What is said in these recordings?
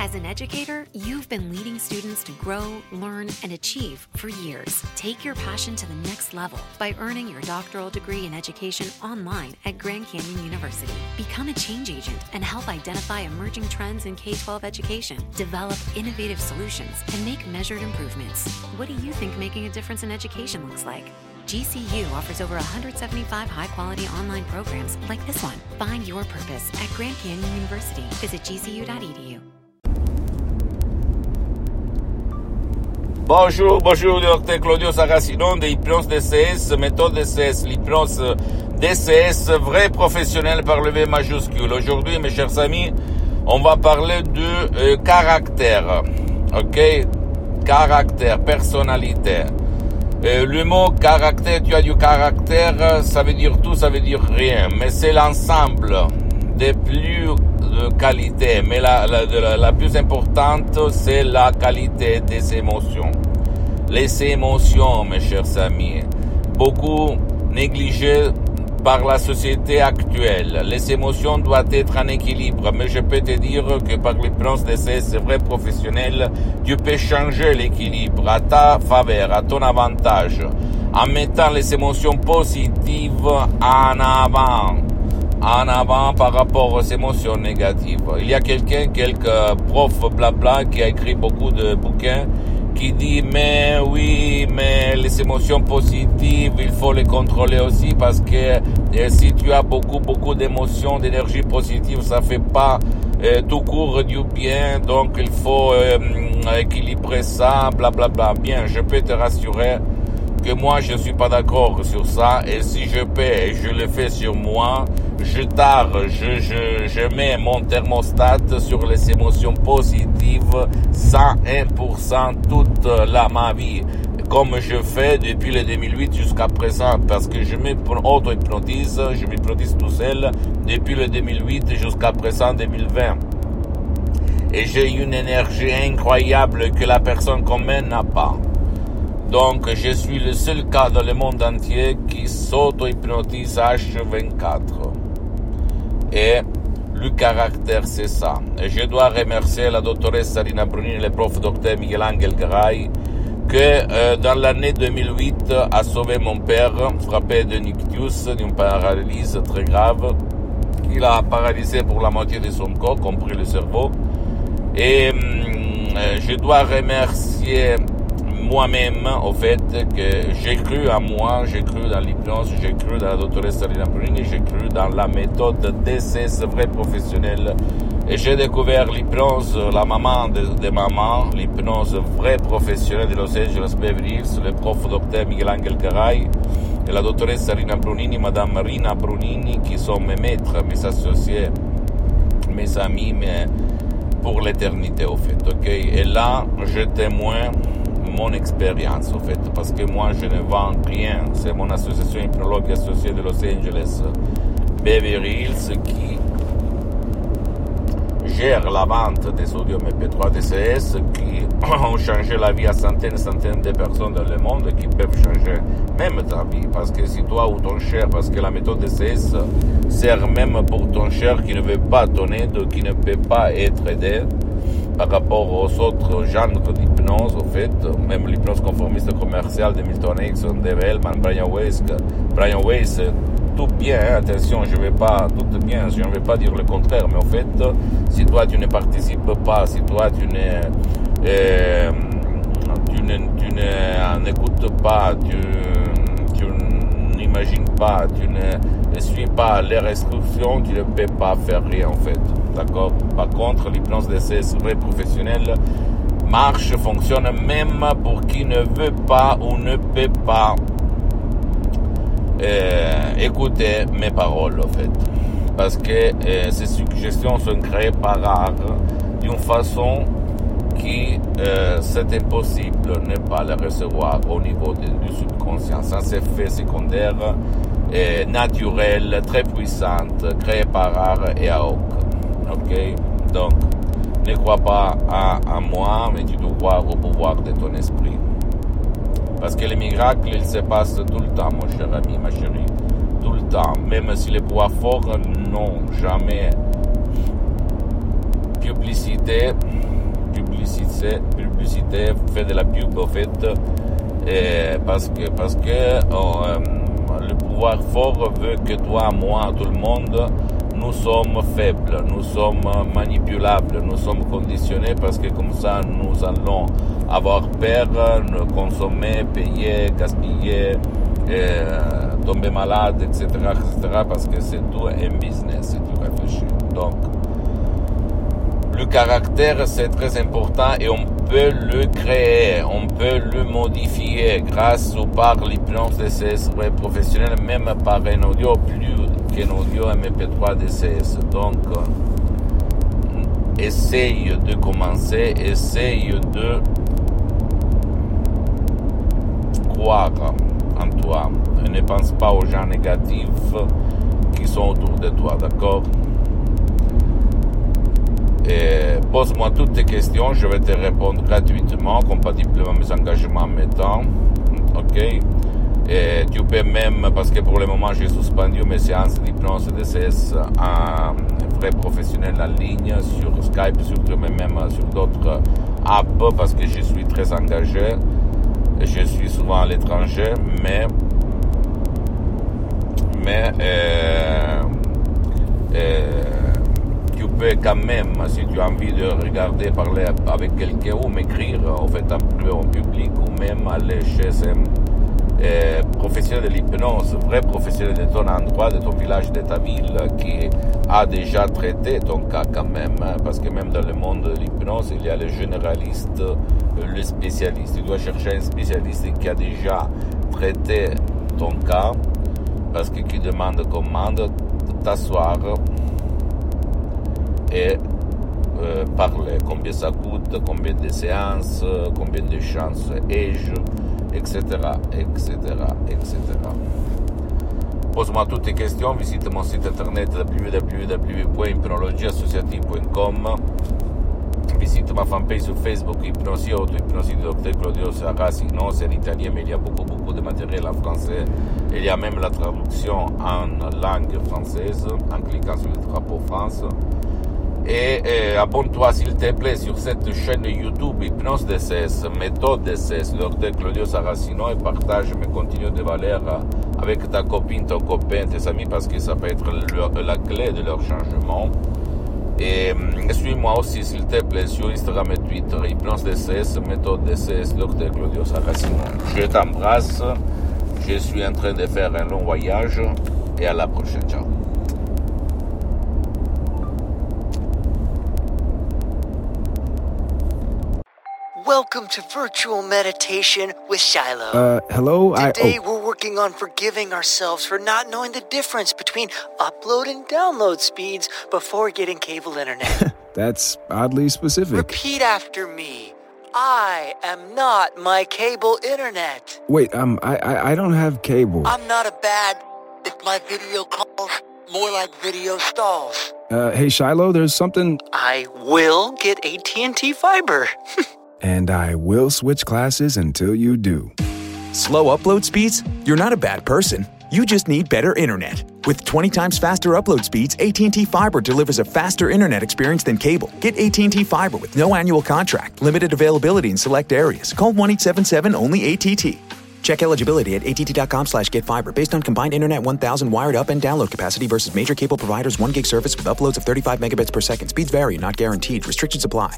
As an educator, you've been leading students to grow, learn, and achieve for years. Take your passion to the next level by earning your doctoral degree in education online at Grand Canyon University. Become a change agent and help identify emerging trends in K-12 education, develop innovative solutions, and make measured improvements. What do you think making a difference in education looks like? GCU offers over 175 high-quality online programs like this one. Find your purpose at Grand Canyon University. Visit gcu.edu. Bonjour, docteur Claudio Saracino de Hypnose DCS, méthode DCS, l'hypnose DCS, vrai professionnel par le V majuscule. Aujourd'hui, mes chers amis, on va parler de caractère, ok? Caractère, personnalité. Le mot caractère, tu as du caractère, ça veut dire tout, ça veut dire rien, mais c'est l'ensemble des plus qualités, mais la plus importante, c'est la qualité des émotions. Les émotions, mes chers amis, beaucoup négligées par la société actuelle. Les émotions doivent être en équilibre, mais je peux te dire que par l'hypnose DCS vrai professionnel, tu peux changer l'équilibre à ta faveur, à ton avantage, en mettant les émotions positives en avant par rapport aux émotions négatives. Il y a quelques profs blabla qui a écrit beaucoup de bouquins qui dit mais oui, mais les émotions positives, il faut les contrôler aussi parce que si tu as beaucoup d'émotions, d'énergie positive, ça fait pas tout court du bien, donc il faut équilibrer ça, blablabla. Bien, je peux te rassurer que moi je suis pas d'accord sur ça, et si je peux et je le fais sur moi, je mets mon thermostat sur les émotions positives 101% toute ma vie, comme je fais depuis le 2008 jusqu'à présent, parce que je m'auto-hypnotise, je m'hypnotise tout seul depuis le 2008 jusqu'à présent 2020. Et j'ai une énergie incroyable que la personne commune n'a pas. Donc, je suis le seul cas dans le monde entier qui s'auto-hypnotise H24. Et le caractère, c'est ça. Et je dois remercier la doctoresse Rina Brunini et le prof docteur Miguel Angel Garay, que dans l'année 2008 a sauvé mon père, frappé de ictus, d'une paralysie très grave. Il a paralysé pour la moitié de son corps, compris le cerveau. Et je dois remercier moi-même, au fait, que j'ai cru à moi, j'ai cru dans l'hypnose, j'ai cru dans la doctoresse Rina Brunini, j'ai cru dans la méthode DCS vrai professionnel. Et j'ai découvert l'hypnose, la maman de maman, l'hypnose vrai professionnelle de Los Angeles Beverly Hills, le prof docteur Miguel Angel Garay et la doctoresse Rina Brunini, madame Rina Brunini, qui sont mes maîtres, mes associés, mes amis, mais pour l'éternité, au fait, ok? Et là, je témoigne mon expérience, au fait, parce que moi, je ne vends rien. C'est mon association hypnologue associée de Los Angeles, Beverly Hills, qui gère la vente des sodium MP3 DCS, qui ont changé la vie à centaines de personnes dans le monde, qui peuvent changer même ta vie. Parce que si toi ou ton cher, parce que la méthode DCS sert même pour ton cher qui ne veut pas ton aide, qui ne peut pas être aidé, par rapport aux autres genres d'hypnose, au fait, même l'hypnose conformiste commerciale de Milton Erickson, Dave Hellman, Brian Weiss, tout bien, hein, attention, je ne vais pas dire le contraire, mais au fait, si toi tu ne participes pas, si toi tu n'écoutes pas, tu n'imagines pas, tu ne suis pas les restrictions, tu ne peux pas faire rien, en fait. D'accord? Par contre, l'hypnose DCS vrai professionnel marche, fonctionne même pour qui ne veut pas ou ne peut pas écouter mes paroles, en fait. Parce que ces suggestions sont créées par art d'une façon qui c'est impossible de ne pas les recevoir au niveau du subconscient. Ça, c'est fait secondaire, naturel, très puissante, créée par art et à hoc. Ok, donc ne crois pas à moi, mais tu dois croire au pouvoir de ton esprit. Parce que les miracles, ils se passent tout le temps, mon cher ami, ma chérie. Tout le temps. Même si les pouvoirs forts, non, jamais. Tu publicité, fais de la pub au fait, parce que le pouvoir fort veut que toi, moi, tout le monde, nous sommes faibles, nous sommes manipulables, nous sommes conditionnés parce que comme ça nous allons avoir peur, consommer, payer, gaspiller, tomber malade, etc., parce que c'est tout un business si tu réfléchis. Donc, le caractère, c'est très important et on peut le créer, on peut le modifier grâce ou par l'hypnose DCS professionnelle, même par un audio plus qu'un audio MP3 DCS. Donc, essaye de commencer, essaye de croire en toi. Ne pense pas aux gens négatifs qui sont autour de toi, d'accord? Et pose-moi toutes tes questions, je vais te répondre gratuitement, compatiblement à mes engagements en mes temps, ok? Et tu peux même, parce que pour le moment j'ai suspendu mes séances d'hypnose DCS en vrai professionnel en ligne, sur Skype, même sur d'autres apps, parce que je suis très engagé, je suis souvent à l'étranger, mais tu peux quand même, si tu as envie de regarder, parler avec quelqu'un ou m'écrire en fait en public ou même aller chez un professionnel de l'hypnose, vrai professionnel de ton endroit, de ton village, de ta ville, qui a déjà traité ton cas quand même, parce que même dans le monde de l'hypnose, il y a le généraliste, le spécialiste. Tu dois chercher un spécialiste qui a déjà traité ton cas, parce que qui demande t'asseoir et parler, combien ça coûte, combien de séances, combien de chances ai-je, etc., etc., etc. Pose-moi toutes tes questions, visite mon site internet www.hypnologieassociative.com, visite ma fanpage sur Facebook, Hypnosie Auto-Hypnosie de Dr. Claudio Saracino, c'est en italien, mais il y a beaucoup de matériel en français. Il y a même la traduction en langue française, en cliquant sur le drapeau France. Et abonne-toi s'il te plaît sur cette chaîne YouTube Hypnose DCS, méthode DCS, Dr. Claudio Saracino, et partage mes contenus de valeur avec ta copine, ton copain, tes amis, parce que ça peut être la clé de leur changement. Et suis-moi aussi s'il te plaît sur Instagram et Twitter, Hypnose DCS, méthode DCS, Dr. Claudio Saracino. Je t'embrasse, je suis en train de faire un long voyage et à la prochaine, ciao. Welcome to Virtual Meditation with Shiloh. Hello? Today we're working on forgiving ourselves for not knowing the difference between upload and download speeds before getting cable internet. That's oddly specific. Repeat after me. I am not my cable internet. Wait, I don't have cable. I'm not a bad... It's my video calls, more like video stalls. Hey, Shiloh, there's something... I will get AT&T Fiber. And I will switch classes until you do. Slow upload speeds? You're not a bad person. You just need better internet. With 20 times faster upload speeds, AT&T Fiber delivers a faster internet experience than cable. Get AT&T Fiber with no annual contract, limited availability in select areas. Call 1-877-ONLY-ATT. Check eligibility at att.com/getfiber based on combined internet 1000 wired up and download capacity versus major cable providers 1 gig service with uploads of 35 megabits per second. Speeds vary, not guaranteed. Restrictions apply.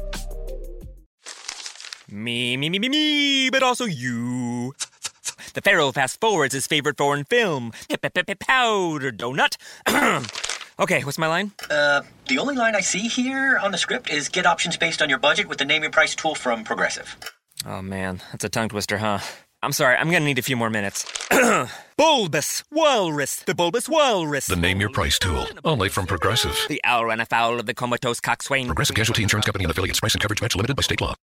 Me, but also you. The Pharaoh fast forwards his favorite foreign film, Powder Donut. Okay, what's my line? The only line I see here on the script is get options based on your budget with the Name Your Price tool from Progressive. Oh man, that's a tongue twister, huh? I'm sorry, I'm gonna need a few more minutes. Bulbous Walrus, the Bulbous Walrus. The Name Your Price tool, only from Progressive. The owl ran afoul of the comatose coxswain. Progressive Casualty Insurance Company and affiliates. Price and coverage match limited by state law.